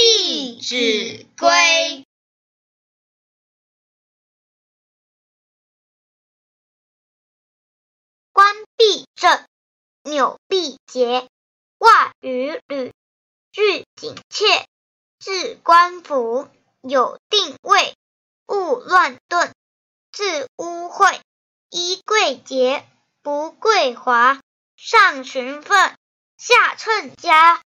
弟子规》。冠必正，纽必结，袜与履俱紧切。置冠服，有定位，勿乱顿。置污秽，衣贵洁，不贵华。上循分，下称家。